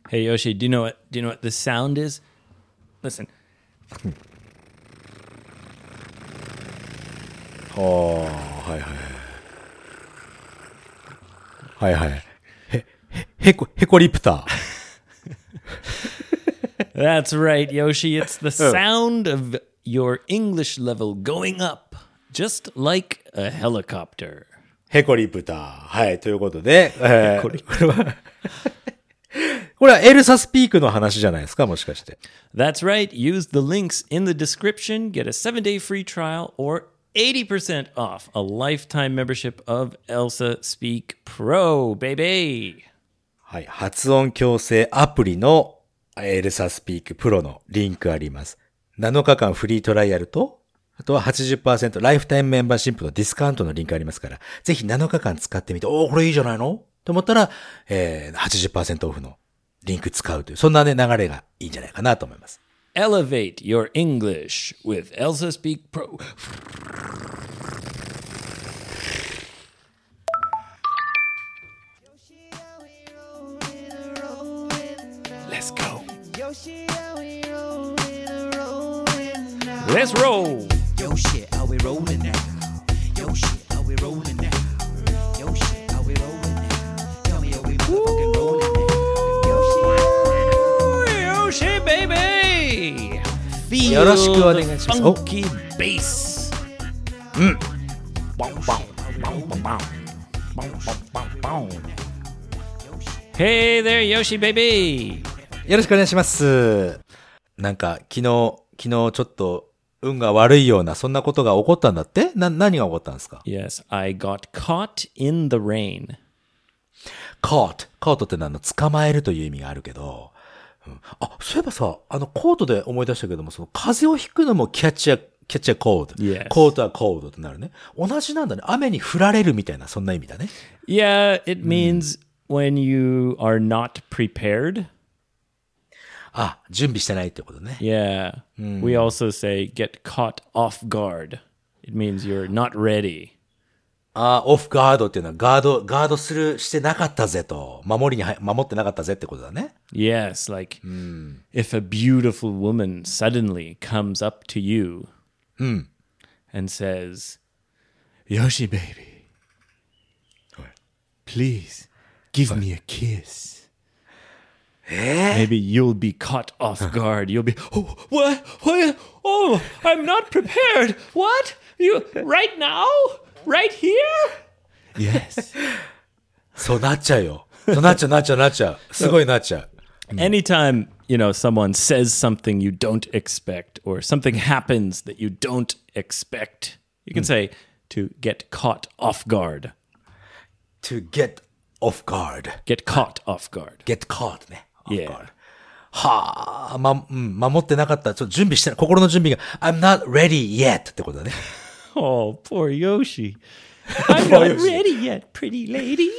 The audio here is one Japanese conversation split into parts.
Hey Yoshi, do you know what the sound is? Listen. はいはいはいはいはいへこリプター That's right, Yoshi. It's the sound of your English level going up, just like a helicopter. へこリプターはいということで、 これこれはエルサスピークの話じゃないですかもしかして That's right. Use the links in the description. Get a 7-day free trial or 80% off a lifetime membership of Elsa Speak Pro, baby. はい発音矯正アプリのエルサスピークプロのリンクあります7日間フリートライアルとあとは 80% ライフタイムメンバーシップのディスカウントのリンクありますからぜひ7日間使ってみてこれいいじゃないのと思ったら、80% オフのリンク使うというそんなね流れがいいんじゃないかなと思います Elevate your English with Elsa Speak Pro. Let's go. Let's roll. Yo shit, are we rolling now? Yo shit, are we rolling now? Yo shit, are we rolling now? Tell me, are we motherfucking rolling now? Yo shit. Yoshi, baby. Feel よろしくお願い the します funky bass. Hey there, Yoshi, baby. よろしくお願いしますなんか昨日ちょっと運が悪いようなそんなことが起こったんだって何が起こったんですか Yes, I got caught in the rain. caught って捕まえるという意味があるけど、そういえばさコートで思い出したけどもその風邪をひくのも catch a cold Yes. コートは cold ってなるね同じなんだね雨に降られるみたいなそんな意味だね Yeah, it means when you are not prepared. 準備してないってことね Yeah. We also say get caught off guard. It means you're not ready. オフガードっていうのはガードしてなかったぜと守ってなかったぜってことだね Yes, like if a beautiful woman suddenly comes up to you and says, Yoshi, baby, please give me a kiss. Maybe you'll be caught off guard. You'll be, oh, what? Oh, I'm not prepared. What? You, right now? Right here? Yes. そうなっちゃうよそうなっちゃうすごいなっちゃう Anytime, someone says something you don't expect or something happens that you don't expect, you can say to get caught off guard. to get off guard Get caught off guard. get caught ね off Yeah. guard はあ、守ってなかった準備してない心の準備が I'm not ready yet ってことだね Oh, poor Yoshi. I'm not ready yet, pretty lady.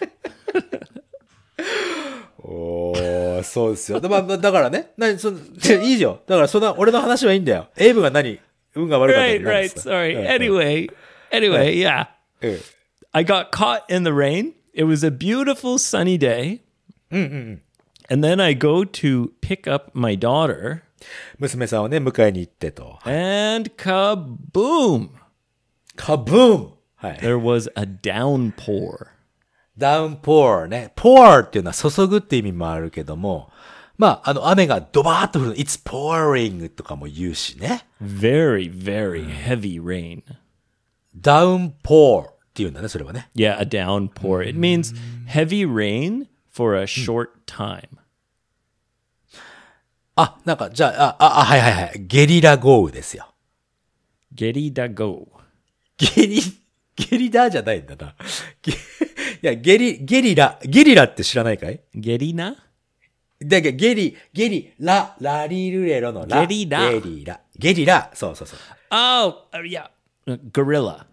そうですよだからねいいよだからそんな俺の話はいいんだよエイブが運が悪かった Right, right. Sorry. Anyway, yeah. I got caught in the rain. It was a beautiful sunny day. And then I go to pick up my daughter. 娘さんをね迎えに行ってと And kaboom! カブームはい There was a downpour. ダウンポーね。pour っていうのは注ぐって意味もあるけども、雨がドバーっと降る。It's pouring とかも言うしね。 Very, very heavy rain. ダウンポーっていうんだね、それはね。 Yeah, a downpour. It means heavy rain for a short time. じゃあ、はいはいはい。ゲリラ豪雨ですよ。 Geridago. ゲリラじゃないんだな。いや、ゲリラって知らないかい Gerina? だけどゲリラリルレロのラ。 ゲリラゲリラ。そう。 Oh, yeah. Gorilla.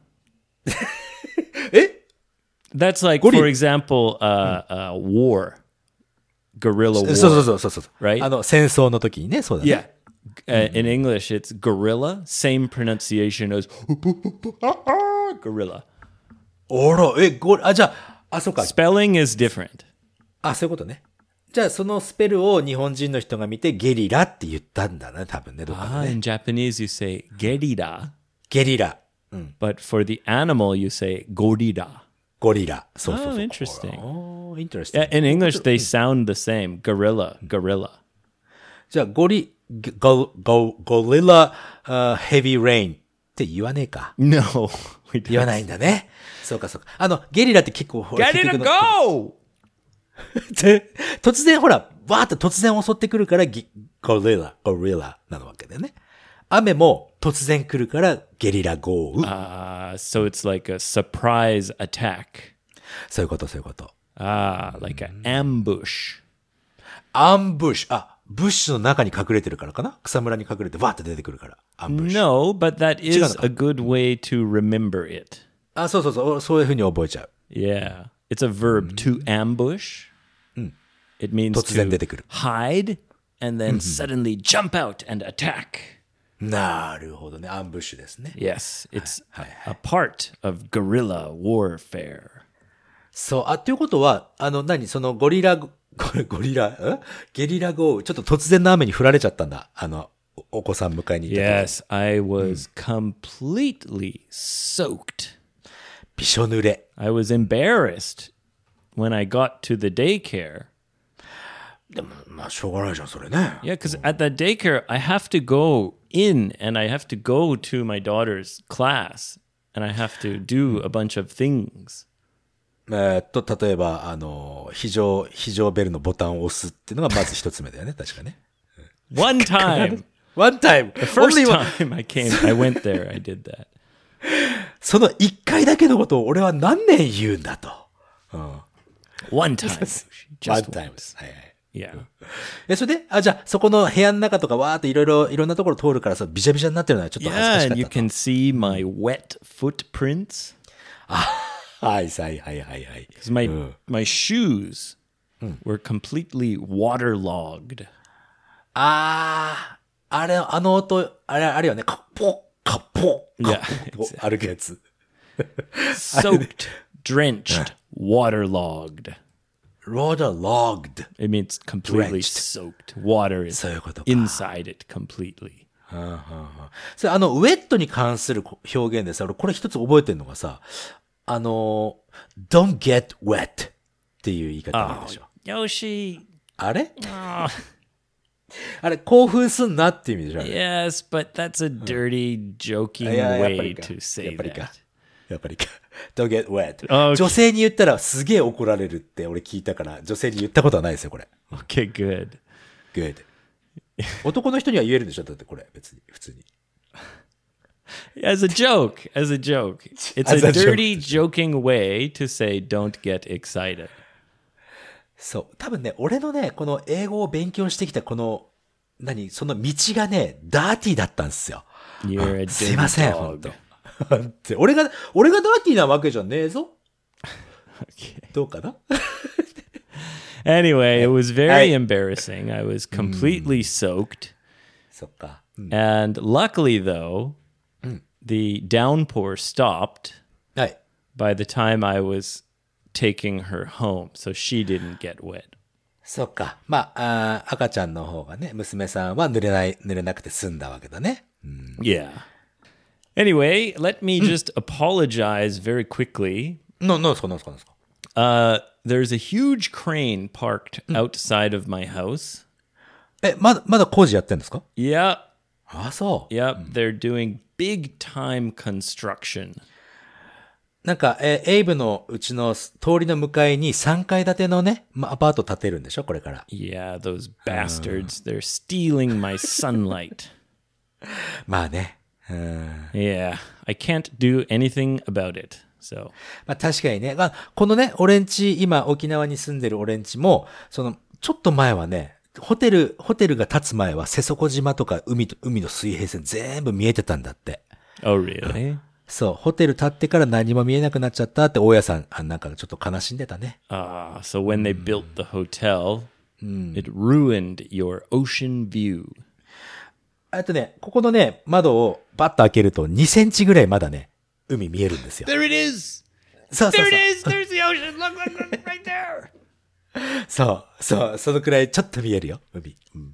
え That's like, Gorilla. for example, war. Guerrilla war. そう。 Right? 戦争の時にね、そうだね。 Yeah. In English, it's gorilla. Same pronunciation as gorilla. じゃあ、そうか。 Spelling is different. そういうことね。 じゃあそのスペルを日本人の人が見てゲリラって言ったんだね、多分ね、どっかで Ah, ね。 in Japanese, you say gerira, ゲリラ。 but for the animal, you say gorira. ゴリラ。そうそうそう。 Oh, interesting. おー、interesting. Yeah, in English, they sound the same. Gorilla. じゃあゴリラ、ヘビーレインって言わねえか。 No, we 言わ don't. ないんだね。そうかそうか。ゲリラって結構、ほら Get it 結 to 局 go! 突然ほら、わーっと突然襲ってくるからゴリラなのわけだよね。雨も突然来るからゲリラ豪雨。 So it's like a surprise attack. そういうこと、そういうこと。 Like an ambush. アンブッシュ。ブッシュの中に隠れてるからかな、草むらに隠れてわーって出てくるから。アンブッシュ。 No, but that is 違うのか。 a good way to remember it. そうそうそう。そういう風に覚えちゃう。 Yeah. It's a verb to ambush. It means 突然 to 出てくる。 hide and then suddenly jump out and attack. なるほどね。アンブッシュですね。 Yes, it's a part of guerrilla warfare. そう。っていうことは、そのゲリラ豪雨。ちょっと突然の雨に降られちゃったんだ。お子さん迎えに行った時。 Yes, I was completely soaked. びしょ濡れ。 I was embarrassed when I got to the daycare. でも、まあ、しょうがないじゃん、それね。 Yeah, because at the daycare, I have to go in and I have to go to my daughter's class and I have to do a bunch of things. 例えば、非常ベルのボタンを押すっていうのがまず一つ目だよね、確かね。 One time, One time! first Only one- time I went there, I did that. その一回だけのことを俺は何年言うんだと。 One time. One Just time. once. はいはい。 Yeah. それで、じゃあ、そこの部屋の中とかわーっていろんなところ通るからさ、びしゃびしゃになってるのはちょっと恥ず Yeah, かし and か you ったと。 can see my wet footprints. はいはいはいはいはい。 Because my shoes were completely waterlogged. あれ、音、あれよね、カッポッ、カッポッ、カッポッ、歩くやつ。 Soaked, drenched, waterlogged. waterlogged. It means completely Drenched. soaked. Water is そういうことか。 inside it completely. それウェットに関する表現でさ、俺これ一つ覚えてるのがさ、don't get wet っていう言い方なんでしょ。 Yoshi. あれ Oh, あれ、興奮すんなっていう意味でしょ。 yes, but that's a dirty, joking いややっぱ way りか to say やっぱりか that. やっぱりか。don't get wet. Okay. 女性に言ったらすげえ怒られるって俺聞いたから、女性に言ったことはないですよ、これ。 Okay, good. good. 男の人には言えるんでしょだってこれ、別に、普通に。 As a joke, as a joke. It's As a a joke. dirty, joking way to say don't get excited. そう。多分ね、俺のね、この英語を勉強してきたこの、その道がね、ダーティーだったんですよ。 You're a すいません、 dirty ほんと dog.。 俺がダーティーなわけじゃねえぞ。どうかな Anyway, it was very Hey. embarrassing. I was completely soaked. そっか。 And luckily, though, the downpour stopped はい。 by the time I was taking her home, so she didn't get wet. そっか。まあ、赤ちゃんの方がね、娘さんは濡れなくて済んだわけだね。 Yeah. Anyway, let me just apologize very quickly. なんですか There's a huge crane parked outside of my house. まだ工事やってんですか Yep, そう。 yep. They're doing big time construction. なんか、エイブのうちの通りの向かいに3階建てのね、アパート建てるんでしょこれから。 Yeah, those bastards. They're stealing my sunlight. まあね。 Yeah, I can't do anything about it. So, まあ確かにね。このね、俺んち、今沖縄に住んでる俺んちも、ちょっと前はね、ホテルが建つ前は瀬底島とか海の水平線全部見えてたんだって。 oh really? そう、ホテル建ってから何も見えなくなっちゃったって大家さん、なんかちょっと悲しんでたね。 So when they built the hotel, it ruined your ocean view. あとね、ここのね、窓をバッと開けると2センチぐらいまだね、海見えるんですよ。 There it is. そうそう There そう it。is. There's the ocean. Look, right there. そう、そのくらいちょっと見えるよ、海。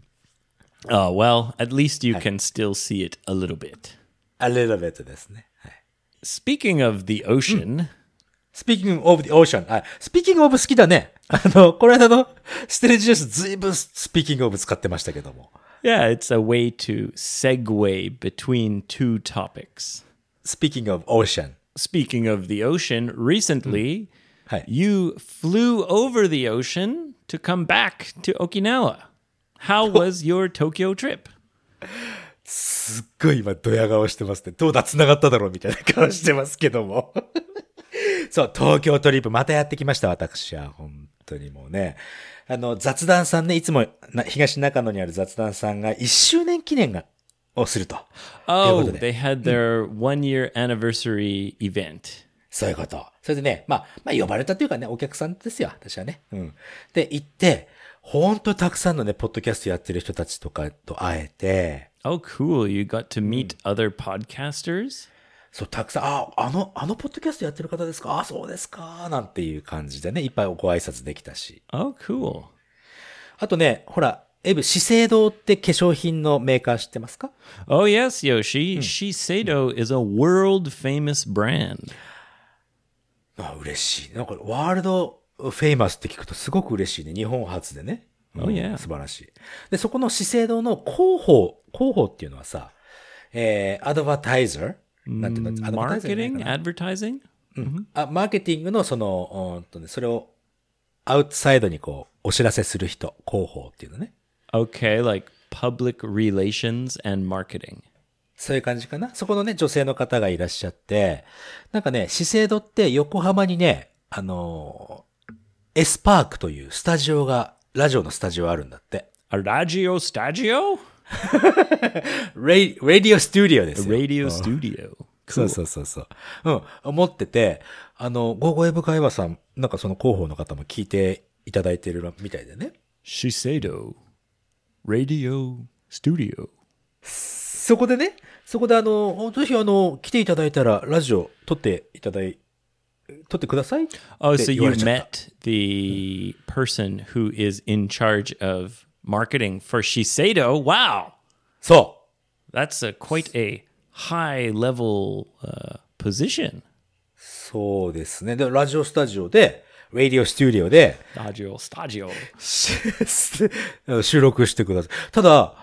Oh, well, at least you can still see it a little bit. A little bit ですね。はい。 Speaking of the ocean, Speaking of the ocean. Speaking of 好きだね。この間のステレジュースずいぶん Speaking of 使ってましたけども。 yeah, it's a way to segue between two topics. Speaking of ocean. Speaking of the ocean, recently はい。 you flew over the ocean to come back to Okinawa. How was your Tokyo trip? すっごい今ドヤ顔してますね。どうだ繋がっただろうみたいな顔してますけども。そう、東京トリップまたやってきました、私は。本当にもうね。雑談さんね、いつも東中野にある雑談さんが1周年記念をすると。 Oh, ということで they had their 1-year anniversary event. そういうこと。それでね、まあ呼ばれたというかね、お客さんですよ、私はね。で、行って、本当たくさんのね、ポッドキャストやってる人たちとかと会えて、 Oh, cool. You got to meet other podcasters? そう、たくさん、あのポッドキャストやってる方ですか？そうですかなんていう感じでね、いっぱいご挨拶できたし。 Oh, cool. あとね、ほら、エブ、資生堂って化粧品のメーカー知ってますか？ Oh, yes, Yoshi. Shiseido is a world famous brand. 嬉しい。なんか、ワールドフェイマスって聞くとすごく嬉しいね。日本初でね。 Oh, yeah. 素晴らしい。で、そこの資生堂の広報っていうのはさ、アドバタイザーなんていうの？アドバタイザーじゃないか Marketing? な Advertising? マーケティングのその、それをアウトサイドにこう、お知らせする人、広報っていうのね。 Okay, like public relations and marketing. そういう感じかな。そこのね、女性の方がいらっしゃって、なんかね、資生堂って横浜にね、エスパークというスタジオが、ラジオのスタジオあるんだって。 A radio stadio? ラディオスタジオですよ。 Radio studio. そう。思ってて、ゴーゴーエブ会話さん、なんかその広報の方も聞いていただいてるみたいでね。 Shiseido Radio Studio. そこでね、ぜひ来ていただいたら、ラジオ撮ってください。 Oh, so って言わ you れちゃった。 met the person who is in charge of marketing for Shiseido. Wow. そ That's quite a high level position. そうですね。で、ラジオスタジオで、ラディオスタジオで、 Radio Stadio. 収録してください。ただ、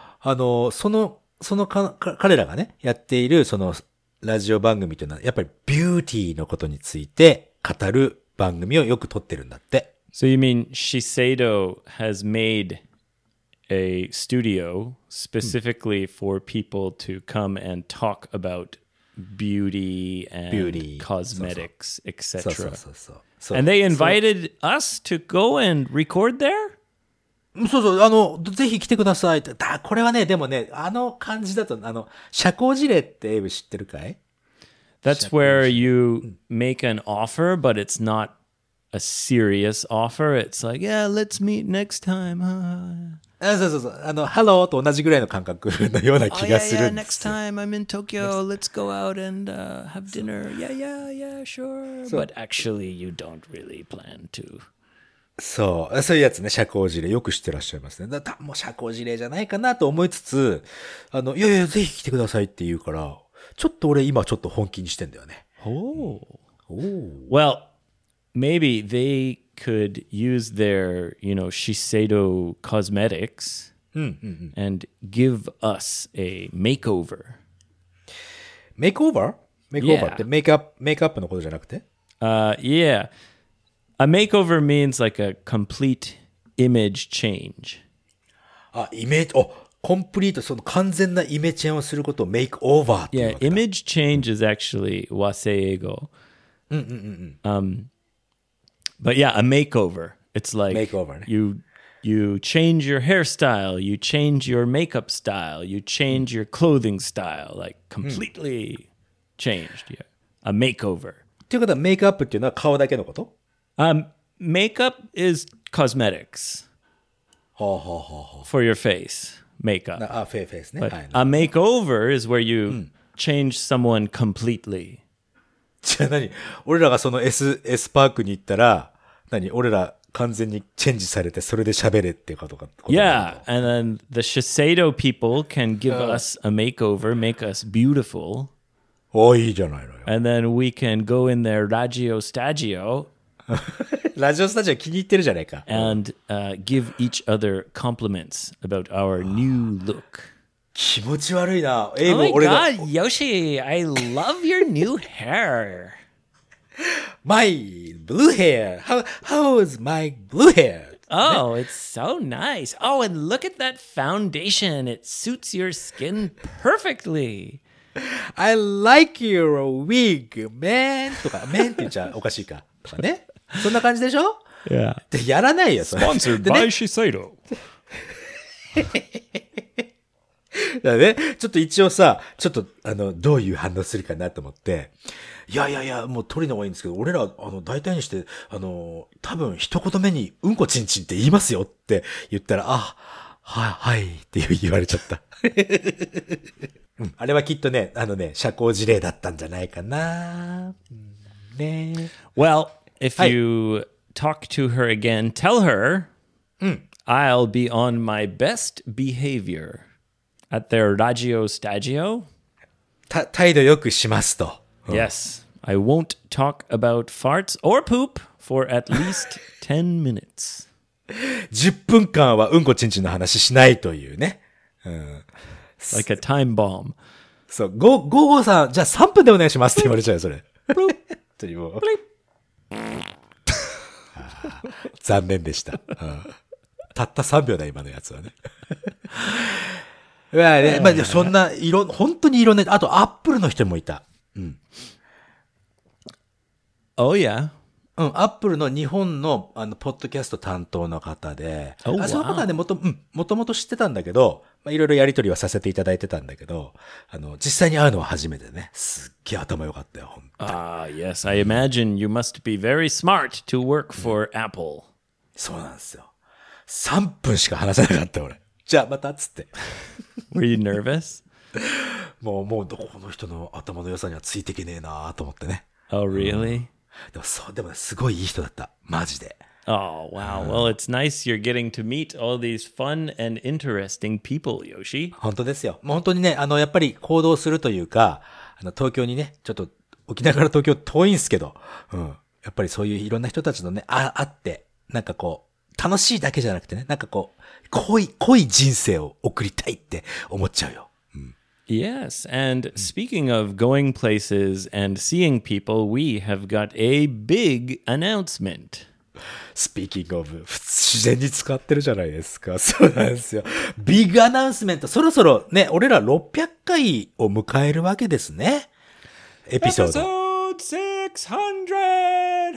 彼らがね、やっている、その、ラジオ番組というのは、やっぱりビューティーのことについて語る番組をよく撮ってるんだって。 So you mean Shiseido has made a studio specifically for people to come and talk about beauty and Beauty. cosmetics, そう etc. そう。 And they invited us to go and record there? ぜひ来てくださいって。これはね、でもね、感じだと、社交辞令ってエイブ知ってるかい？ That's where you make an offer, but it's not a serious offer. It's like, yeah, let's meet next time. そう。ハローと同じぐらいの感覚のような Oh, 気 yeah, がす yeah, るんで next すよ。 time I'm in Tokyo. Let's go out and have dinner. Yeah, sure. But actually, you don't really plan to. そういうやつね、社交辞令よく知ってらっしゃいますね。もう社交辞令じゃないかなと思いつつ、いや、ぜひ来てくださいって言うから、ちょっと俺今ちょっと本気にしてんだよね。 Oh. Well, maybe they could use their, Shiseido cosmetics and give us a makeover. メイクオーバー Yeah. ってメイクアップのことじゃなくて？ Yeah. A makeover means like a complete image change. コンプリート、その完全なイメチェンをすることをメイクオーバーっていう Yeah, わけだ。 image change is actually waseigo. But yeah, a makeover. It's like Makeover ね。 you change your hairstyle, you change your makeup style, you change your clothing style, like completely changed. Yeah. A makeover. っていうことはメイクアップっていうのは顔だけのこと？ Makeup is cosmetics はあ。 for your face. Makeup. フェイスね。 But はい。 a makeover is where you change someone completely. じゃあ俺らがその S パークに行ったら、俺ら完全にチェンジされて、それで喋れっていうことか。 Yeah, and then the Shiseido people can give us a makeover, make us beautiful, いいじゃないのよ。 and then we can go in their Radio Stagio ラジオスタジオ気に入ってるじゃないか。 and give each other compliments about our new look. 気持ち悪いな。 Oh も my 俺が god, Yoshi, I love your new hair. My blue hair. How is my blue hair? Oh, it's so nice. Oh, and look at that foundation. It suits your skin perfectly. I like your wig, man. とか、man って言っちゃおかしいか。とかね。そんな感じでしょ Yeah. でやらないよ、それ。 Sponsored でね by Shiseido. だね、ちょっと一応さ、ちょっと、どういう反応するかなと思って、いや、もう取りの方がいいんですけど、俺ら、大体にして、多分一言目に、うんこちんちんって言いますよって言ったら、はいって言われちゃった。うん、あれはきっとね、社交辞令だったんじゃないかな。ね。 Well, if you talk to her again, tell her I'll be on my best behavior at their Radio Stagio. 態度よくしますと。 Yes, I won't talk about farts or poop for at least 10 minutes. 10分間はうんこちんちんの話しないというね。 Like a time bomb. そう、午後さん、じゃあ3分でお願いしますって言われちゃうよ、それ。というもう残念でした。たった3秒だ、今のやつはね。まあね、まあ、そんな、本当にいろんな、あと、アップルの人もいた。 Oh, yeah. アップルの日本の、ポッドキャスト担当の方で、 Oh, その方はね、もともと知ってたんだけど、まあ、いろいろやりとりはさせていただいてたんだけど、実際に会うのは初めてね、すっげえ頭良かったよ、ほんと。 Yes, I imagine you must be very smart to work for Apple. そうなんですよ。3分しか話せなかった、俺。じゃあ、また、つって。 Were you nervous? もう、この人の頭の良さにはついていけねえなと思ってね。 Oh, really? でもね、すごいいい人だった。マジで。 Oh, wow. Well, it's nice you're getting to meet all these fun and interesting people, Yoshi. 本当ですよ。もう本当にね、やっぱり行動するというか、東京にね、ちょっと、沖縄から東京遠いんすけど、やっぱりそういういろんな人たちのね、会って、なんかこう、楽しいだけじゃなくてね、なんかこう、濃い人生を送りたいって思っちゃうよ。 Yes, and speaking of going places and seeing people, we have got a big announcement. Speaking of, 自然に使ってるじゃないですか。そうなんですよ。ビッグアナウンスメント。そろそろね、俺ら600回を迎えるわけですね。エピソード。 Episode 600!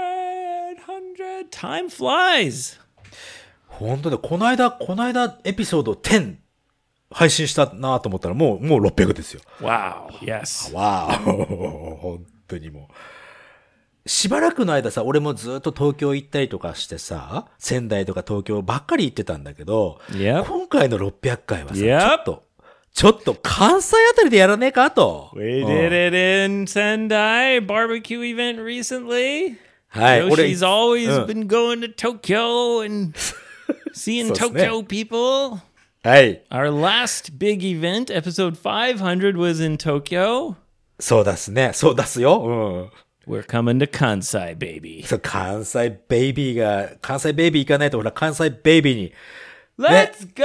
Time flies! 本当だ。この間エピソード10配信したなと思ったらもう600ですよ。 Wow, yes. わー本当にもう。しばらくの間さ、俺もずっと東京行ったりとかしてさ、仙台とか東京ばっかり行ってたんだけど、 Yep. 今回の600回はさ、 Yep. ちょっと関西あたりでやらねえかと。 We did it in Sendai barbecue event recently. はい。 Yoshi's always been going to Tokyo and seeing Tokyo people. はい。 Our last big event, episode 500, was in Tokyo. そうですね。そうですよ。 We're coming to Kansai, baby. そう、関西ベイビー行かないと、ほら、関西ベイビーに。 Let's go,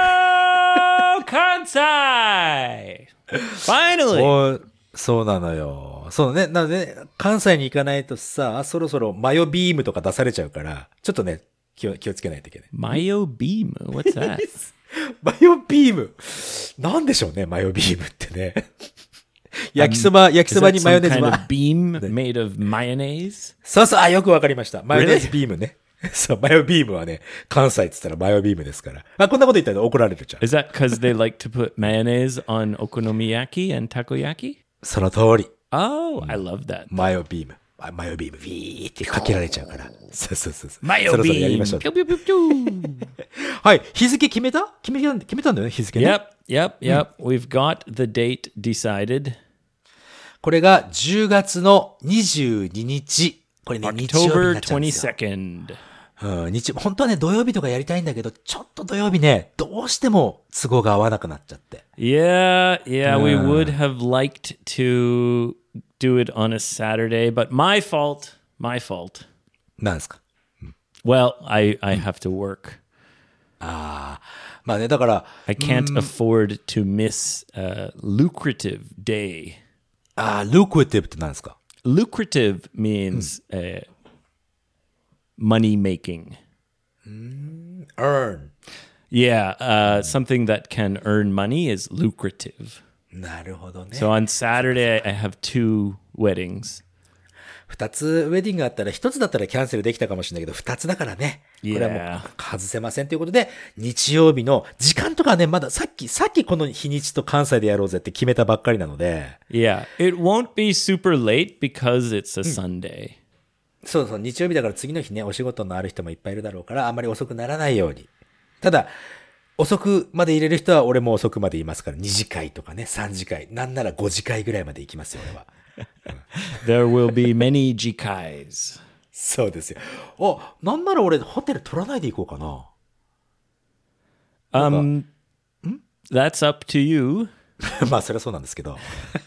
Kansai! Finally! そうなのよ。そうね。なので、ね、関西に行かないとさ、そろそろマヨビームとか出されちゃうから、ちょっとね、気をつけないといけない。 Mayo beam? What's that? マヨビーム。なんでしょうね、マヨビームってね。焼きそばにマヨネーズ kind of beam made of mayonnaise? そう、よくわかりました。マヨネーズビームね。そう、マヨビームはね、関西って言ったらマヨビームですから。こんなこと言ったら怒られるじゃん。 Is that because they like to put mayonnaise on okonomiyaki and takoyaki? その通り。 Oh, I love that. マヨビーム、ビーってかけられちゃうから。そう。 マヨビーム。 そろそろやりましょう。 ピュピュピュピュはい。日付決めたんだよね、日付ね。 Yep. We've got the date decided. これが10月の22日。これね、日曜日になっちゃうんですよ。 October 22nd. うん、本当はね、土曜日とかやりたいんだけど、ちょっと土曜日ね、どうしても都合が合わなくなっちゃって。 Yeah, we would have liked to do it on a Saturday, but my fault. なんですか Well, I have to work. まあね、だから、 I can't afford to miss a lucrative day. lucrative って何ですか Lucrative means money making. earn. Yeah, something that can earn money is lucrative. なるほどね。 So on Saturday, I have 2 weddings. 二つウェディングがあったら、一つだったらキャンセルできたかもしれないけど、二つだからね。これはもう外せませんということで、日曜日の時間とかね、まださっきこの日にちと関西でやろうぜって決めたばっかりなので。 Yeah, it won't be super late because it's a Sunday. そうそう、日曜日だから次の日ね、お仕事のある人もいっぱいいるだろうから、あんまり遅くならないように。ただ、遅くまで入れる人は俺も遅くまでいますから、2次会とかね、3次会、なんなら5次会ぐらいまで行きますよ、俺は。 There will be many jikais. そうですよ。なんなら俺ホテル取らないで行こうかな。 That's up to you. まあ、それはそうなんですけど。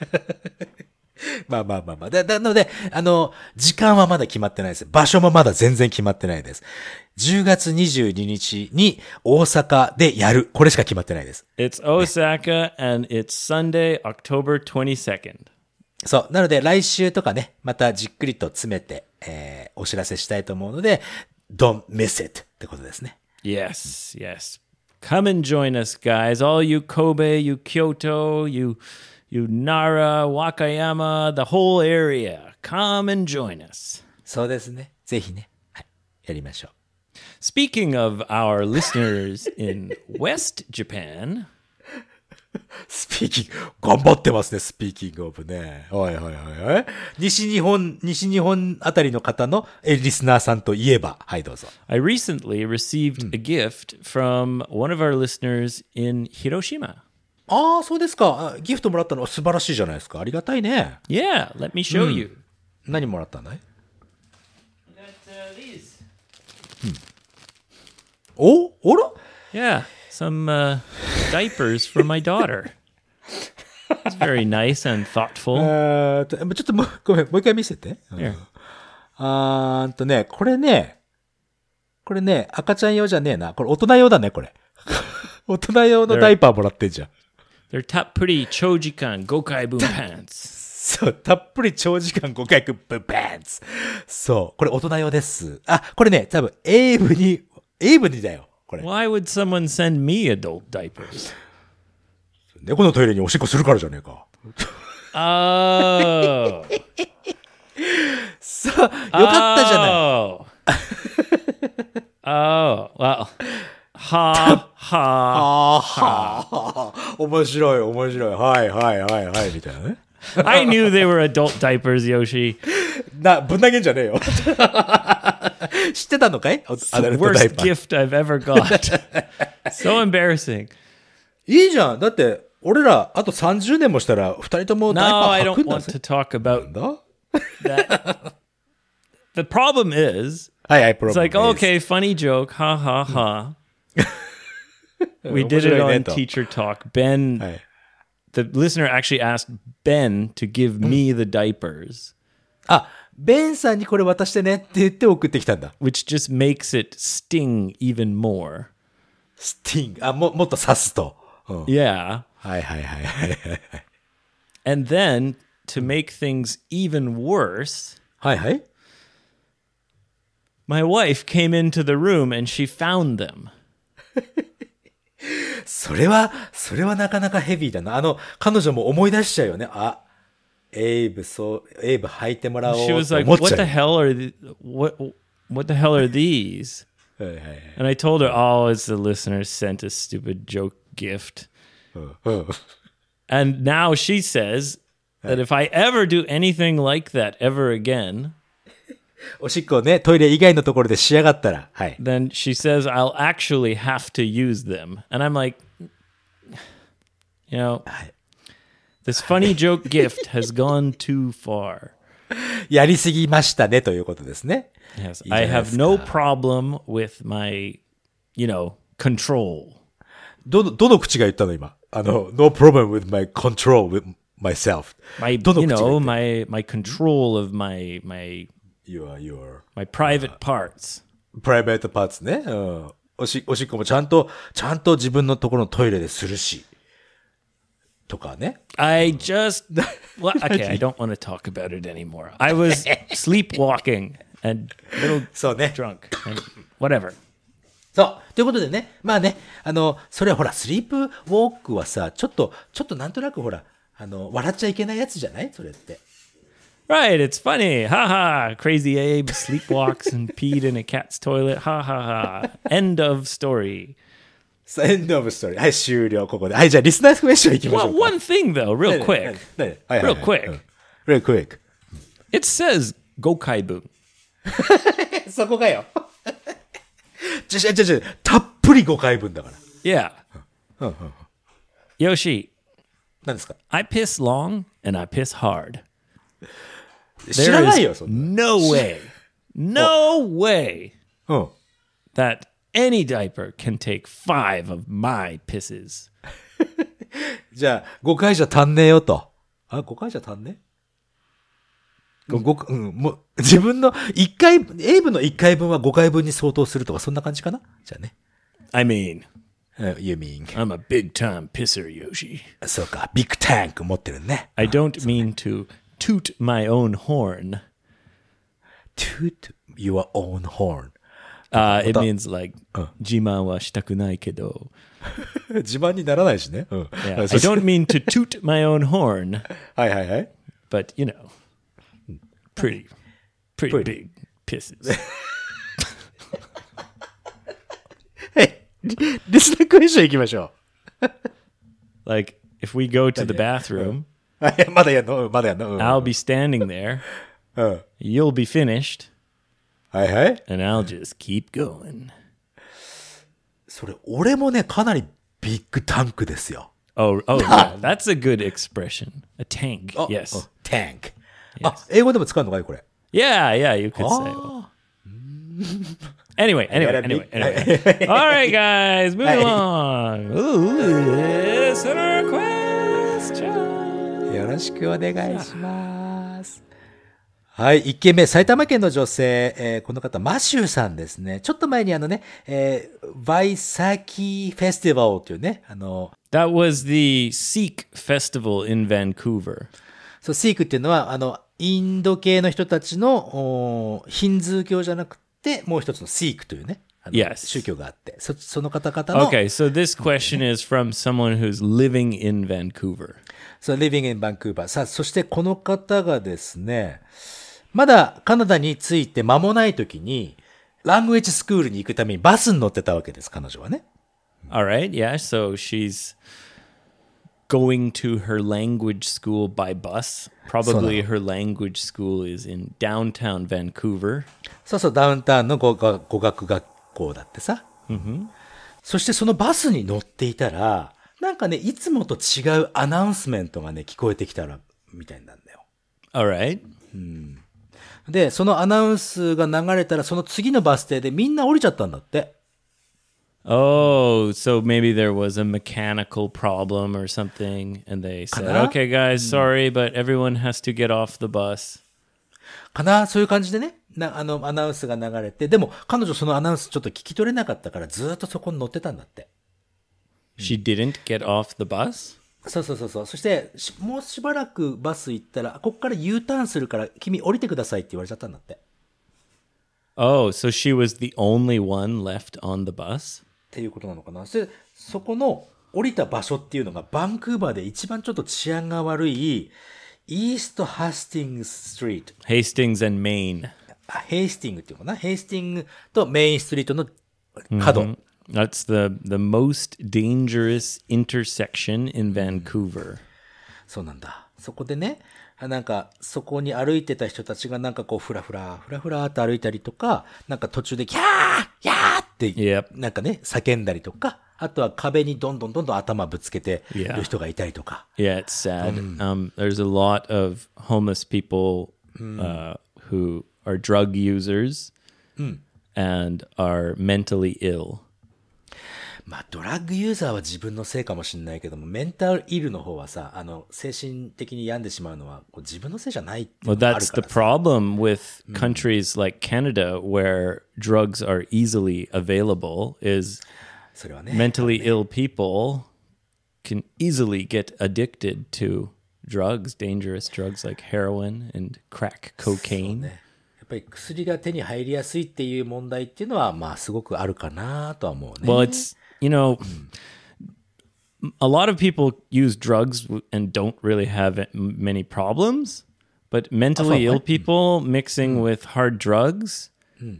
まあ。なので、時間はまだ決まってないです。場所もまだ全然決まってないです。10月22日に大阪でやる。これしか決まってないです。 It's Osaka and it's Sunday, October 22nd. そう。なので、来週とかね、またじっくりと詰めて、お知らせしたいと思うので、don't miss it ってことですね。 Yes. Come and join us, guys. All you Kobe, you Kyoto, you Nara, Wakayama, the whole area. Come and join us. そうですね。ぜひね。はい。やりましょう。 Speaking of our listeners in West Japan, スピーキング、頑張ってますね、スピーキングオブね。はい。西日本あたりの方のリスナーさんといえば、はい、どうぞ。 I recently received a gift from one of our listeners in Hiroshima. そうですか。ギフトもらったの素晴らしいじゃないですか。ありがたいね。 Yeah, let me show you. 何もらったんだい I got these. あら Yeah, some diapers for my daughter. It's very nice and thoughtful. ちょっとごめん、もう一回見せて。 Here. これね、赤ちゃん用じゃねえな。これ大人用だね、これ。大人用のダイパーもらってんじゃん。 They're tappuri chojikan gokai boom pants. そう、たっぷり長時間5回ブンパンツ。そう、これ大人用です。これね、多分、エイブにだよ、これ。 Why would someone send me adult diapers? 猫のトイレにおしっこするからじゃねえか。 Oh. そう、よかったじゃない。 Oh, well. Ha. 面白い。はい、みたいなね。 I knew they were adult diapers, Yoshi. ぶん投げんじゃねえよ。知ってたのかい Worst gift I've ever got. So embarrassing. いいじゃん。だって、俺ら、あと30年もしたら、二人ともダイ No, パ I ー履く don't んだ want ぜ。 to talk about だ that. The problem is, はい、 it's like, okay, funny joke, ha ha ha. We did it on Teacher Talk. Ben, はい。 the listener actually asked Ben to give me the diapers, ベンさんにこれ渡してねって言って送ってきたんだ。 which just makes it sting even more. スティング。もっと刺すと。 Yeah. はい。 And then to make things even worse, はい。 my wife came into the room and she found them. それはなかなかヘビーだな。彼女も思い出しちゃうよね。エイブ履いてもらおうと She 思っ was ちゃう。 like, "What the hell are what the hell are these?" はい。 And I told her, "Oh, it's the listener sent a stupid joke gift." And now she says that if I ever do anything like that ever again, おしっこをね、トイレ以外のところでしやがったら、はい。 then she says I'll actually have to use them. And I'm like, you know, this funny joke gift has gone too far. やりすぎましたねということですね。 Yes, いいじゃな I いです have か。 no problem with my, control. どの口が言ったの今。no problem with my control with myself. My, どの口が言った my control of my your private parts. private parts ね。うん。おしっこもちゃんと自分のところのトイレでするし。とかね。 I just, well, okay, I don't want to talk about it anymore. I was sleepwalking and a little そうね。 drunk and whatever. そう。ということでね。まあね。それはほら、スリープウォークはさ、ちょっとなんとなくほら、笑っちゃいけないやつじゃないそれって。 Right, it's funny. Ha ha. Crazy Abe sleepwalks and peed in a cat's toilet. Ha ha ha. End of story. End of story. はい、終了、ここで。はい、じゃあ、リスナークエスチョンいきましょ Well, うか。 one thing though, real quick. はいはいはい Real quick. うん Real quick. It says Gokaibun. そこかよ。たっぷり5回分だから。 Yeah. Yoshi, 何ですか I piss long and I piss hard. 知らないよ、そんな。 No way. No way うん。 that any diaper can take 5 of my pisses. じゃあ、5回じゃ足んねえよと。5回じゃ足んねえもう、自分の1回、エイブの1回分は5回分に相当するとか、そんな感じかなじゃあね。 I mean, You mean. I'm a big time pisser, Yoshi. そうか、ビッグタンク持ってるね。 I don't mean to toot my own horn. toot your own horn. It means like, 自慢はしたくないけど. 自慢にならないしね。うん。 Yeah, I don't mean to toot my own horn, はいはいはい。 but pretty big pisses. はい。リスナークエスチョン行きましょ Like, if we go to the bathroom, う。はい、まだやんの I'll be standing there, うん。 you'll be finished, はいはい。 and I'll just keep going. それ、俺もね、かなりビッグタンクですよ。 Oh, yeah, that's a good expression. A tank, あ yes. タンク。あ、英語でも使うのかいこれ。 Yeah, you could say. Well. Anyway. All right, guys, moving along. Ooh, listener question. よろしくお願いします。はい、1件目、埼玉県の女性、この方、マシューさんですね。ちょっと前にバイサキフェスティバルというね、 That was the Sikh festival in Vancouver. そう、シークっていうのは、インド系の人たちの、ヒンズー教じゃなくて、もう一つのシークというね、 Yes. 宗教があって、その方々の、 Okay, so this question is from someone who's living in Vancouver. そう、living in Vancouver。さあ、そしてこの方がですね、まだカナダに着いて間もない時に、ラングエッジスクールに行くためにバスに乗ってたわけです、彼女はね。 All right, yeah, so she's going to her language school by bus. Probably her language school is in downtown Vancouver. そうそう、ダウンタウンの語学学校だってさ。そしてそのバスに乗っていたら、なんかね、いつもと違うアナウンスメントがね、聞こえてきたら、みたいなんだよ。 All right. で、そのアナウンスが流れたら、その次のバス停でみんな降りちゃったんだって。 Oh, so maybe there was a mechanical problem or something, and they said, okay, guys, sorry, but everyone has to get off the bus. かなそういう感じでね、アナウンスが流れて、でも彼女そのアナウンスちょっと聞き取れなかったからずっとそこに乗ってたんだって。 She didn't get off the bus? そう。そしてもうしばらくバス行ったら、ここから U ターンするから君降りてくださいって言われちゃったんだって。 Oh, so she was the only one left on the bus? っていうことなのかな。そこの降りた場所っていうのがバンクーバーで一番ちょっと治安が悪いイーストハスティングストリート。 Hastings and Main. ヘイスティングっていうのかな。ヘイスティングとメインストリートの角。 That's the most dangerous intersection in Vancouver. そうなんだ。そこでね、なんかそこに歩いてた人たちがなんかこうフラフラって歩いたりとか、なんか途中でキャーって、 Yep. なんかね、叫んだりとか、あとは壁にどんどん頭ぶつけてる人がいたりとか。 Yeah, it's sad. There's a lot of homeless people who are drug users and are mentally ill. まあ、ドラッグユーザーは自分のせいかもしれないけども、メンタルイルの方はさ、精神的に病んでしまうのは、こう自分のせいじゃないっていう Well, のがある that's か the らさ。 problem with countries like Canada where drugs are easily available is それはね。 mentally ill people can easily get addicted to drugs, dangerous drugs like heroin and crack そう cocaine. ね。やっぱり薬が手に入りやすいっていう問題っていうのは、まあ、すごくあるかなとは思うね。 Well, it's, you know, a lot of people use drugs and don't really have many problems, but mentally ill people mixing with hard drugs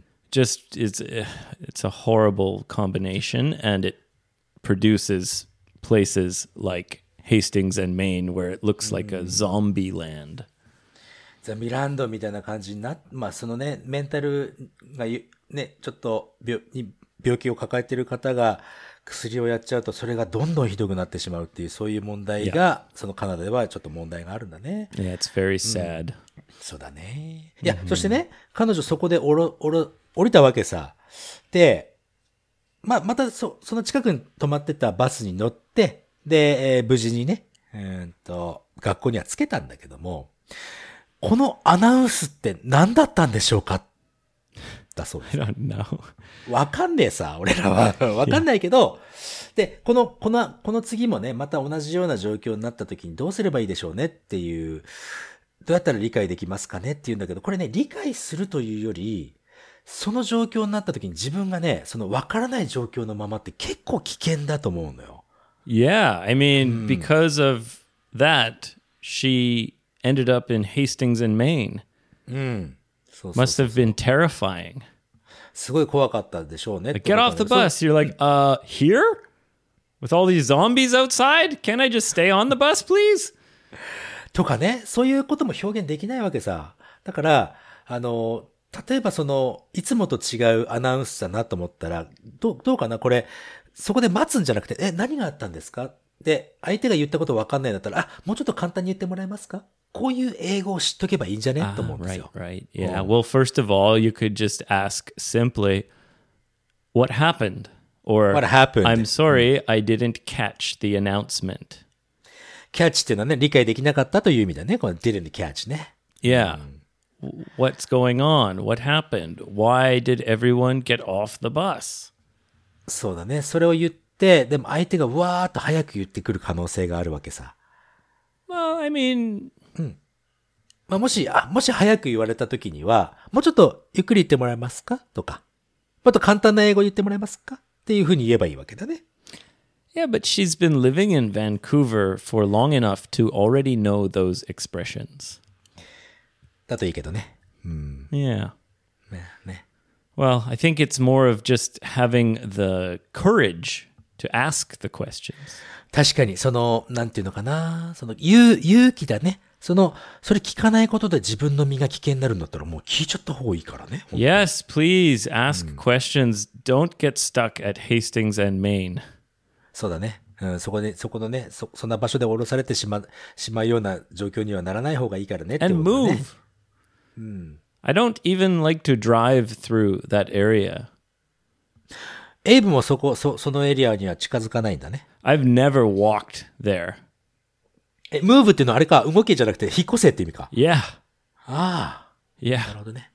just it's a horrible combination, and it produces places like Hastings and Maine where it looks like a zombie land. ザ・ミランドみたいな感じにまあそのね、メンタルがね、ちょっと病気を抱えている方が薬をやっちゃうと、それがどんどんひどくなってしまうっていう、そういう問題が、そのカナダではちょっと問題があるんだね。 Yeah, it's very sad. そうだね。いや、そしてね、彼女そこで降りたわけさ。で、まあ、またその近くに止まってたバスに乗って、で、無事にね、学校には着けたんだけども、このアナウンスって何だったんでしょうかだそうです。 I don't know. わかんねえさ、俺らは。わかんないけど、で、この次もね、また同じような状況になった時にどうすればいいでしょうねっていう、どうやったら理解できますかねっていうんだけど、これね、理解するというより、その状況になった時に自分がね、そのわからない状況のままって結構危険だと思うのよ。 Yeah, I mean, because of that, she ended up in Hastings and Maine. そうそう Must have been terrifying. すごい怖かったでしょうね。 Get off the bus. You're like, here? With all these zombies outside? Can't I just stay on the bus, please? とかね、そういうことも表現できないわけさ。だから、例えばいつもと違うアナウンスだなと思ったら、どうかなこれ、そこで待つんじゃなくて、何があったんですかで、相手が言ったこと分かんないんだったら、もうちょっと簡単に言ってもらえますかこういう英語を知っとけばいいんじゃねと思うんですよ。 Right. Yeah. Well, first of all, you could just ask simply, what happened? Or, What happened? I'm sorry, I didn't catch the announcement. キャッチっていうのはね、理解できなかったという意味だね。この didn't catch ね。 Yeah. What's going on? What happened? Why did everyone get off the bus? そうだね。それを言って、でも相手がわーっと早く言ってくる可能性があるわけさ。 Well, I mean, まあ、もし早く言われた時には、もうちょっとゆっくり言ってもらえますかとか、もっと簡単な英語言ってもらえますかっていうふうに言えばいいわけだね。 yeah, but she's been living in Vancouver for long enough to already know those expressions. だといいけどね。 Yeah. ね。 Well, I think it's more of just having the courage to ask the questions. 確かに、なんていうのかな。勇気だね。それ聞かないことで自分の身が危険になるんだったらもう聞いちゃった方がいいからね。 Yes, please ask questions. Don't get stuck at Hastings and Maine. そうだね。そこのね、そんな場所で降ろされてしまうような状況にはならない方がいいからねってこと And だね。 move. I don't even like to drive through that area. エイブもそのエリアには近づかないんだね。 I've never walked there. ムーブっていうのはあれか、動けじゃなくて引っ越せって意味か。 Yeah. ああ。な Yeah. るほどね。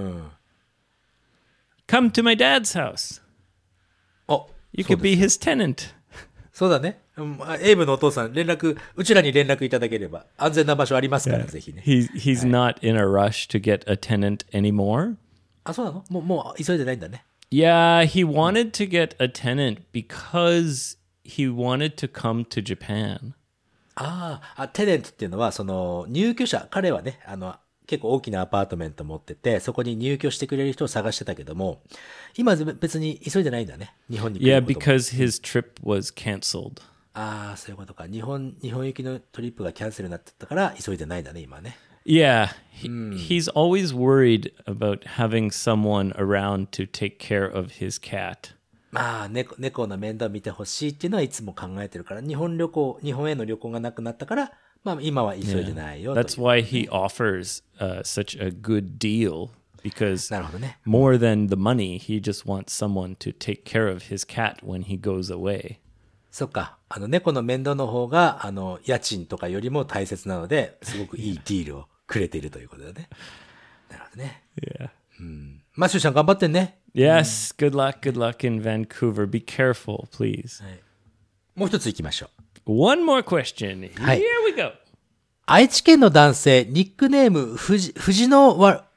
Come to my dad's house. お、 You そう could です be his tenant. そうだね。エイブのお父さん、うちらに連絡いただければ、安全な場所ありますから、ぜひね。 He's not in a rush to get a tenant anymore. あ、そうなの？もう急いでないんだね。 Yeah, he wanted to get a tenant because he wanted to come to Japan. テネントっていうのは、入居者、彼はね、結構大きなアパートメント持ってて、そこに入居してくれる人を探してたけども、今別に急いでないんだね。日本に来 Yeah, ることも。 because his trip was canceled. そういうことか。日本行きのトリップがキャンセルになってたから、急いでないんだね、今ね。 Yeah, he's always worried about having someone around to take care of his cat. まあ、猫の面倒を見てほしいっていうのはいつも考えてるから、日本への旅行がなくなったから、 まあ今は急いでないよという。 That's why he offers such a good deal because なるほどね。 more than the money, he just wants someone to take care of his cat when he goes away. そっか。猫の面倒の方が、家賃とかよりも大切なので、すごくいいディールをくれているということだね。なるほどね。 Yeah. マシューさん頑張ってね。 Yes, good luck in Vancouver. Be careful, please. もう一つ行きましょう。 One more question. Hi. Here we go. 愛知県の男性、ニックネーム、藤野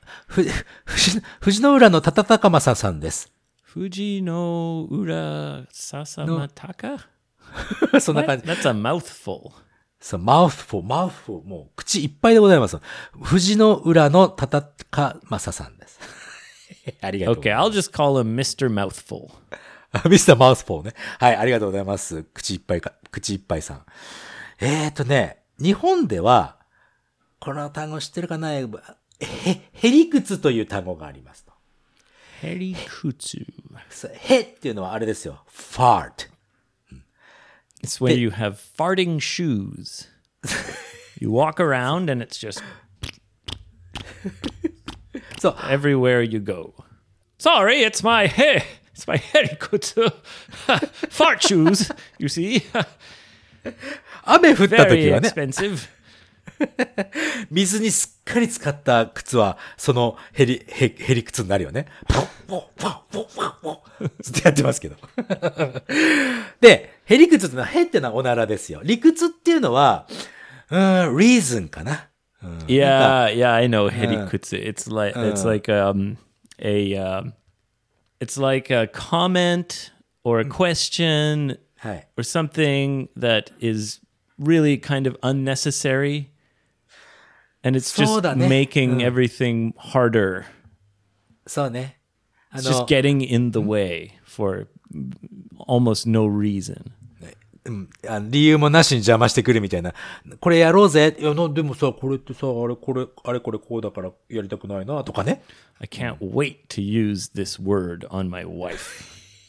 浦のたたたかまささんです。 Fuji no ura sasamataka? そんな感じ。 That's a mouthful. そう、マウスフォー、もう口いっぱいでございます。藤野浦のたたかまささんです。ありがとうござ Okay, います。 I'll just call him Mr. Mouthful. ミスターマウスフォーね。はい、ありがとうございます。口いっぱいさん。日本では、この単語知ってるかな？へりくつという単語がありますと。 Herikutsu. へっていうのはあれですよ。fart. It's when you have farting shoes. You walk around and it's just そう。 everywhere you go. Sorry, it's my herikutsu. Fart shoes, you see. 雨降った時 Very はね、 expensive. 水にすっかり浸かった靴は、そのへり靴になるよね。ずっとやってますけど。で、へり靴ってのは、へってのはおならですよ。理屈っていうのは、reason かな。 Yeah, I know herikutsu. It's like it's like a comment or a question はい。 or something that is really kind of unnecessary. And it's そう just だね。 making everything harder. そうね。 It's just getting in the way for almost no reason. 理由もなしに邪魔してくるみたいな。これやろうぜ。いや、でもさ、これってさ、あれこれこうだからやりたくないな、とかね。 I can't wait to use this word on my wife.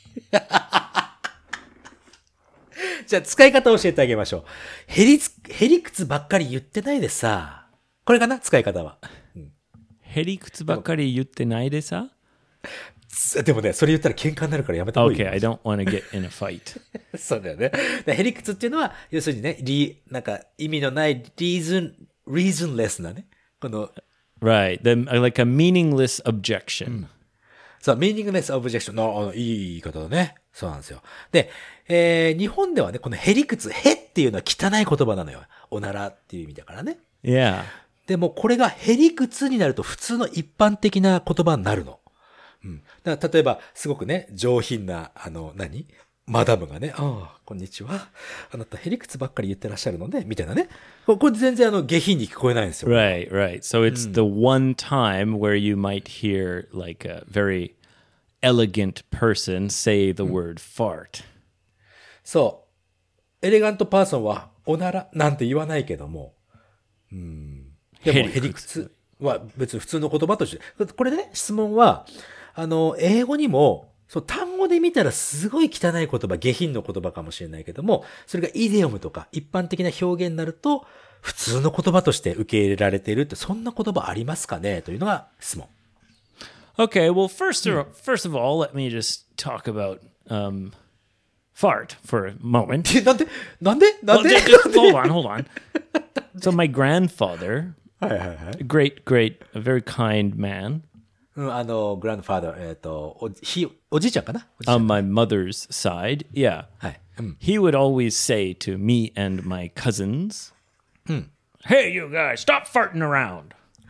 じゃあ、使い方を教えてあげましょう。へりくつばっかり言ってないでさ。これかな、使い方は。 herikutsu ばっかり言ってないでさ? でもね、それ言ったら喧嘩になるからやめた方がいいよ。 Okay, I don't want to get in a fight. そうだよね。へりくつっていうのは、要するにね、なんか意味のないreasonless なね。この、 Right. Like a meaningless objection. そう、meaningless objection いい言い方だね。そうなんですよ。で、日本ではね、このへりくつ、へっていうのは汚い言葉なのよ。おならっていう意味だからね。 Yeah. でもこれがへりくつになると普通の一般的な言葉になるの。だから例えば、すごくね、上品な、マダムがね、こんにちは。あなたへりくつばっかり言ってらっしゃるので、みたいなね。これ全然下品に聞こえないんですよ。 Right. So it's the one time where you might hear like a very elegant person say the word fart. そう。エレガントパーソンは、おならなんて言わないけども、でも、へりくつは別に普通の言葉として、これね、質問は、英語にも、そう、単語で見たらすごい汚い言葉、下品の言葉かもしれないけども、それがイディオムとか一般的な表現になると、普通の言葉として受け入れられているって、そんな言葉ありますかねというのが質問。 Okay. Well, first of all, let me just talk about fart for a moment. なんで Well, hold on. So my grandfather, はいはいはい。 great, a very kind man グランドファーダー、おじいちゃんかなおじいちゃ on ん。 my mother's side. Yeah. はい。 He would always say to me and my cousins, "Hey, you guys, stop farting around."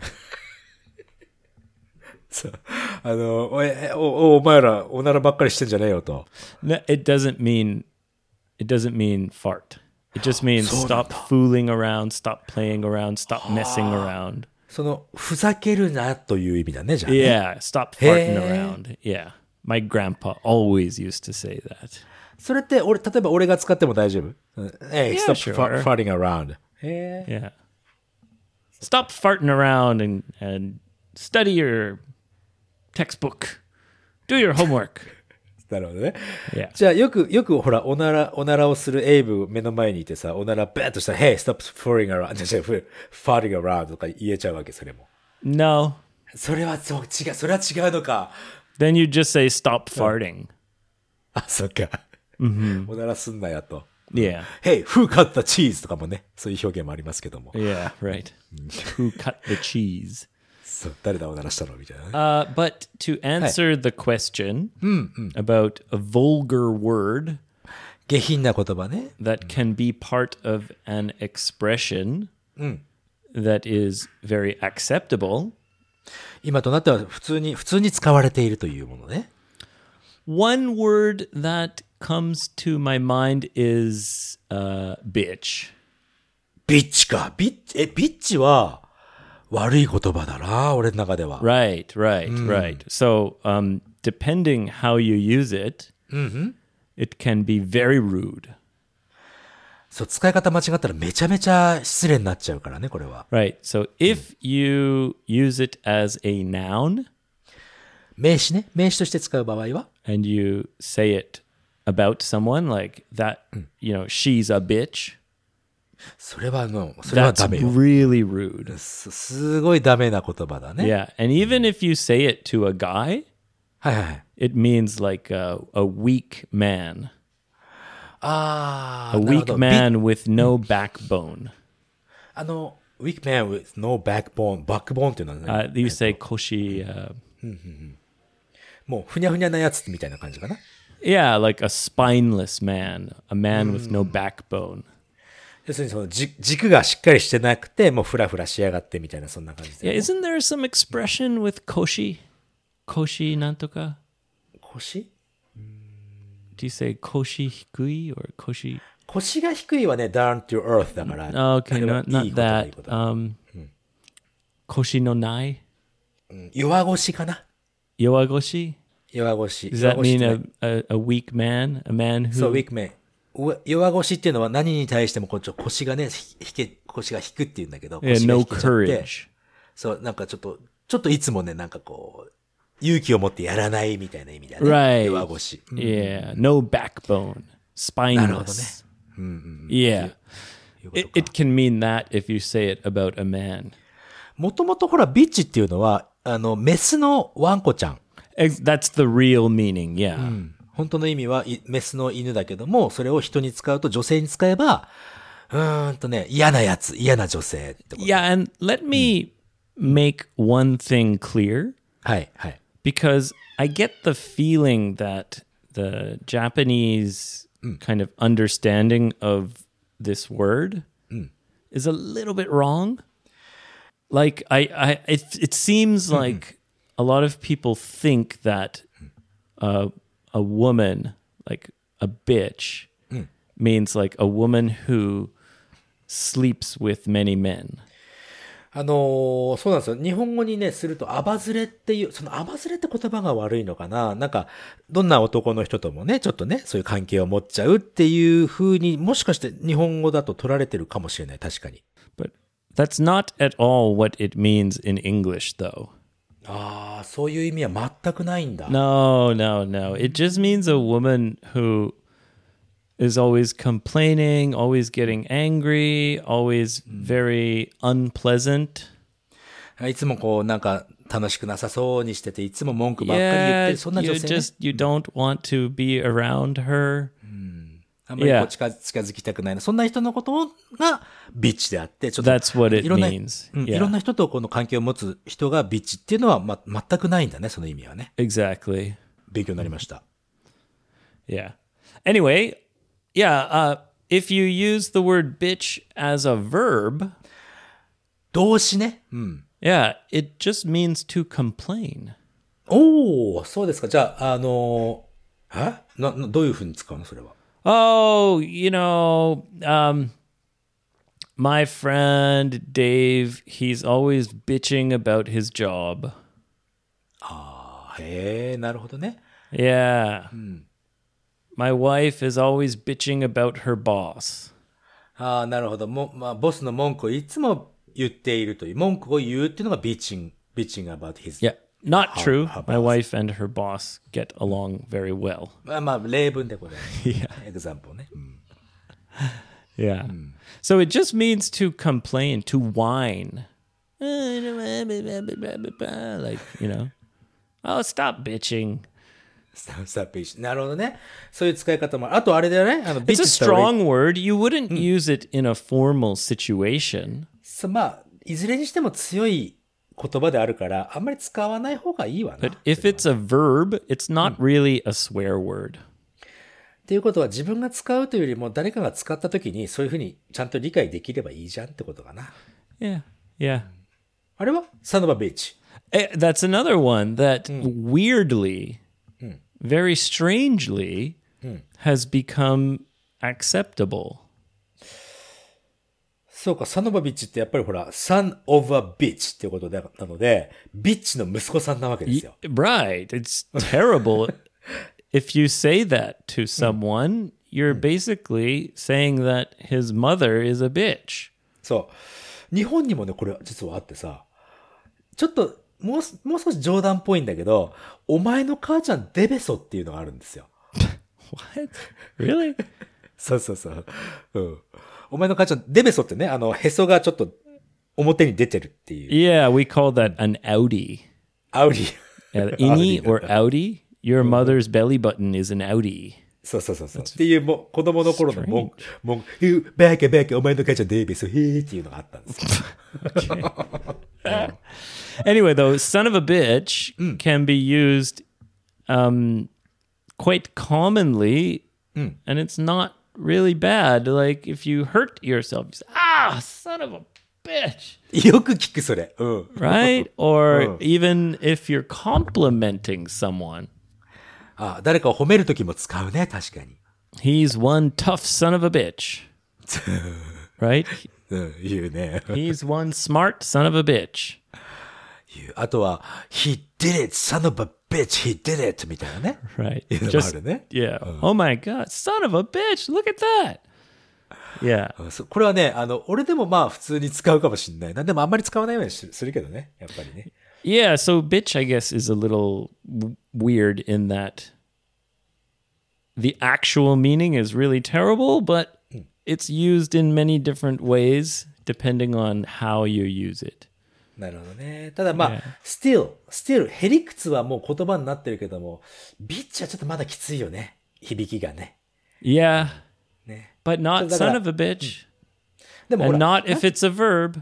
そう。お前ら、おならばっかりしてんじゃねえよと。 No, it doesn't mean fart. It just means そうなん stop だ。 fooling around, stop playing around, stop messing around. その、ふざけるなという意味だね、じゃあ、ね。 Yeah, stop farting Hey. around. Yeah. My grandpa always used to say that. それって、例えば俺が使っても大丈夫？ Hey, Yeah, stop sure. farting around. へえ。 Yeah. Stop farting around and study your textbook. Do your homework. なるほどね。 Yeah. じゃあ、よくほら、おならをするエイブ目の前にいてさ、おならバーッとしたら、Hey, stop farting around. じゃあ、farting around とか言えちゃうわけ、それも。 No. それはそう、違う、それは違うのか。 Then you just say stop farting. あ、そっか。おならすんなやと。 Yeah. Hey, who cut the cheese? とかもね、そういう表現もありますけども。 Yeah, right. Who cut the cheese? そう、誰だおならしたのみたいなね。 But to answer the question about a vulgar word 下品な言葉ね。 that can be part of an expression that is very acceptable, 今となっては普通に使われているというものね。 one word that comes to my mind is bitch. ビッチか。ビッチは悪い言葉だな、俺の中では。 Right. So, depending how you use it, it can be very rude. そう、使い方間違ったらめちゃめちゃ失礼になっちゃうからね、これは。 Right. So, if you use it as a noun 名詞ね。名詞として使う場合は and you say it about someone like that, she's a bitch, それはダ that's メよ。 really rude. すごいダメな言葉だね。 Yeah. And even if you say it to a guy, はいはい。 it means like a weak man, あ a なるほ weak ど。 man with no backbone. weak man with no backbone っていうのはね、 You say koshi, もうふにゃふにゃなやつみたいな感じかな。 yeah, like a spineless man, a man with no backbone. 要するにその軸がしっかりしてなくて、もうフラフラしやがってみたいな、そんな感じ Yeah, で。 isn't there some expression with koshi? Koshi nantoka? 腰 Do you say koshi hikui or koshi? 腰が低いはね、down to earth だから。 Oh, okay, あれは not いいことだいい that. こと Koshi no nai? 弱腰かな。 Yowagoshi? 弱腰。 Does that 弱腰っ mean てね a weak man? A man そう、 who... weak man。弱腰っていうのは何に対しても腰がね、腰が引くっていうんだけど、 Yeah, 腰が no 引けちゃって courage. そう、なんかちょっといつもね、なんかこう、勇気を持ってやらないみたいな意味だね。 Right. 弱腰。 Yeah, no backbone. Spineless. Yeah. It can mean that if you say it about a man. もともとほら、ビッチっていうのは、メスのワンコちゃん。 That's the real meaning, yeah. 本当の意味はメスの犬だけども、それを人に使うと女性に使えば、嫌なやつ、嫌な女性ってこと。 Yeah, and let me make one thing clear, はい、はい。 because I get the feeling that the Japanese kind of understanding of this word is a little bit wrong. Like it seems like a lot of people think that a woman, like a bitch, means like a woman who sleeps with many men. そうなんですよ。日本語にね、すると、アバズレっていう、そのアバズレって言葉が悪いのかな。なんか、どんな男の人ともね、ちょっとね、そういう関係を持っちゃうっていう風に、もしかして日本語だと取られてるかもしれない。確かに。 But that's not at all what it means in English, though. ああ、そういう意味は全くないんだ。 No. It just means a woman who is always complaining, always getting angry, always very unpleasant. いつもこう、なんか、楽しくなさそうにしてて、いつも文句ばっかり言って Yeah, る、そんな女性、ね。 you don't want to be around her. あんまりこう近づきたくないな。そんな人のことがビッチであって、ちょっと That's what it いろんな means. いろんな人とこの関係を持つ人がビッチっていうのは、全くないんだね、その意味はね。 Exactly. 勉強になりました。 Yeah. Anyway, if you use the word bitch as a verb, 動詞ね。 yeah, it just means to complain. おー、そうですか。じゃあ、どういうふうに使うのそれは。 Oh, my friend Dave, he's always bitching about his job. へえ、なるほどね。 Yeah. My wife is always bitching about her boss. なるほど。ボスの文句をいつも言っているという、文句を言うっていうのがビッチング about his Yeah. Not true. My wife and her boss get along very well. まあ、例文でこれ、 Yeah. エグザンプルね。うん Yeah. So it just means to complain, to whine. Like, oh, stop bitching. スタッピーなるほどね。そういう使い方もある。あとあれだよね。 It's a strong word. You wouldn't use it in a formal situation. まあ、いずれにしても強い言葉であるから、あんまり使わない方がいいわな。 But if it's a verb, it's not really a swear word. っていうことは自分が使うというよりも誰かが使った時にそういうふうにちゃんと理解できればいいじゃんってことかな。 Yeah. Yeah. あれは son of a bitch. That's another one that weirdly, very strangely, has become acceptable. そうか、son of a bitch ってやっぱりほら、son of a bitch っていうことなので、ビッチの息子さんなわけですよ。 Right. It's terrible. If you say that to someone, you're basically saying that his mother is a bitch. そう。日本にもね、これ実はあってさ、ちょっともう少し冗談っぽいんだけど、お前の母ちゃんデベソっていうのがあるんですよ。 What? Really? そうそうそう。うん。お前の母ちゃんデベソってね、へそがちょっと表に出てるっていう。 Yeah, we call that an outie. アウディ。 Innie or outie? Your mother's belly button is an outie. そうそうそうそう。っていうも子供の頃の文句、バカバカお前の母ちゃんデベソ、へーっていうのがあったんですよ。 Anyway, though, son of a bitch can be used quite commonly, and it's not really bad. Like, if you hurt yourself, you say, son of a bitch. よく聞くそれ。うん。 Right? Or even if you're complimenting someone. 誰かを褒めるときも使うね、確かに。 He's one tough son of a bitch. Right? 言うね。 He's one smart son of a bitch. あとは、he did it, son of a bitch, he did it みたいなね。 Right. いうのもあ Just, るね。 yeah. Oh my God, son of a bitch, look at that. Yeah. これはね、俺でもまあ普通に使うかもしれないな。でもあんまり使わないようにするけどね。やっぱりね。 Yeah, so bitch, I guess, is a little weird in that the actual meaning is really terrible, but it's used in many different ways depending on how you use it. なるほどね。ただまあ、still、へりくつはもう言葉になってるけども、ビッチはちょっとまだきついよね。響きがね。 Yeah, ね。 but not だから son of a bitch. でもほ And ら、 not if it's a verb.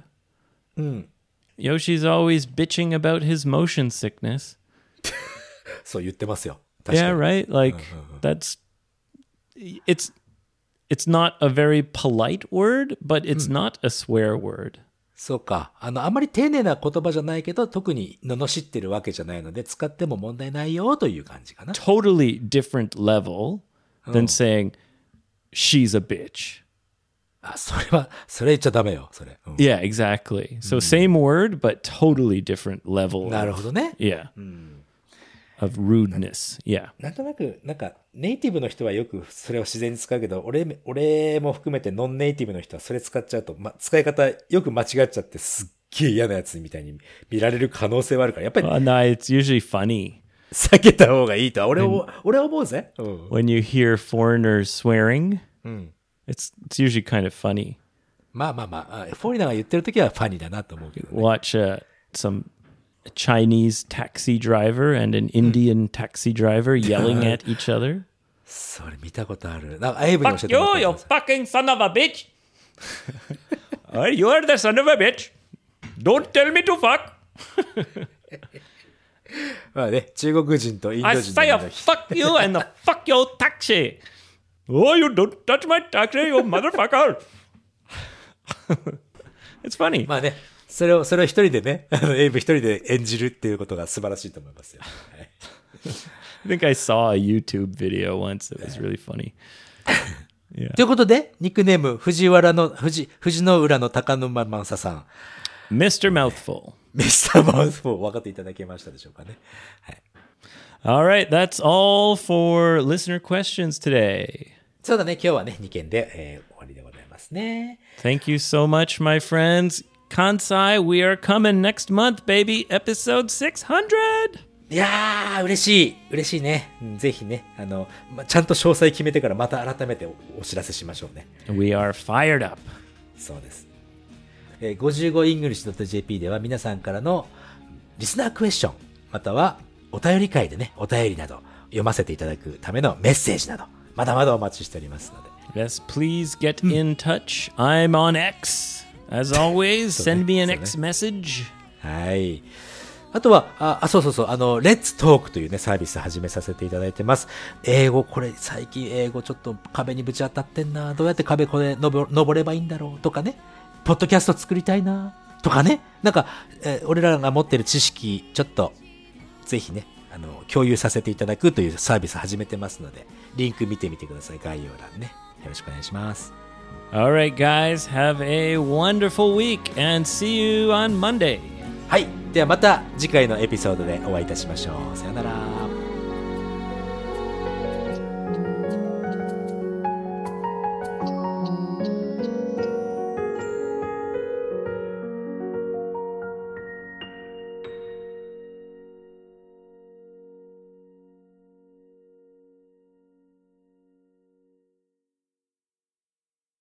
Yoshi's always bitching about his motion sickness. そう言ってますよ。確か Yeah, に。 right? Like, that's... It's not a very polite word, but it's not a swear word. そうか。あんまり丁寧な言葉じゃないけど、特に罵ってるわけじゃないので、使っても問題ないよという感じかな。 Totally different level than saying, she's a bitch. それ言っちゃダメよ、それ。 Yeah, exactly. So same word, but totally different level. なるほどね。 Yeah. Of rudeness. Yeah. なんとなく、ネイティブの人はよくそれを自然に使うけど、俺も含めてノンネイティブの人はそれ使っちゃうと、使い方よく間違っちゃってすっげえ嫌なやつみたいに見られる可能性はあるから、やっぱり No, it's usually funny 避けた方がいいとは俺は思うぜ。 when you hear foreigners swearing. It's usually kind of funny. まあ、フォーリナーが言ってるときはファニーだなと思うけどね。 Watch some Chinese taxi driver and an Indian taxi driver yelling at each other. それ見たことある。エイブに教え Fuck てもら you, った you fucking son of a bitch. You are the son of a bitch. Don't tell me to fuck. まあね、中国人とインド I 人 say の fuck you and fuck your taxi. Oh, you don't touch my taxi, you motherfucker. It's funny. まあね、それを一人でね、エイブ一人で演じるっていうことが素晴らしいと思いますよ。はい、 I think I saw a YouTube video once that was really funny. ということで、ニックネーム、藤の浦の高沼正さん。 Mr. Mouthful. ミスターマウス4分かっていただけましたでしょうかね。はい。 All right, that's all for listener questions today. そうだね、今日はね、2件で、終わりでございますね。 Thank you so much, my friends. Kansai, we are coming next month, baby. Episode 600. いやー、嬉しいね。ぜひね、ちゃんと詳細決めてからまた改めてお知らせしましょうね。 We are fired up. そうです。55english.jp では皆さんからのリスナークエスチョン、またはお便り会でね、お便りなど読ませていただくためのメッセージなど、まだまだお待ちしておりますので。 Yes, please get in touch. I'm on X. As always, send me an X message. はい。あとは、そう、Let's Talk というね、サービス始めさせていただいてます。英語、これ、最近英語ちょっと壁にぶち当たってんな。どうやって壁これ登ればいいんだろうとかね。ポッドキャスト作りたいな。とかね。なんか、俺らが持ってる知識、ちょっと、ぜひね、共有させていただくというサービス始めてますので、リンク見てみてください。概要欄ね。よろしくお願いします。 All right, guys, have a wonderful week and see you on Monday. はい。ではまた次回のエピソードでお会いいたしましょう。さよなら。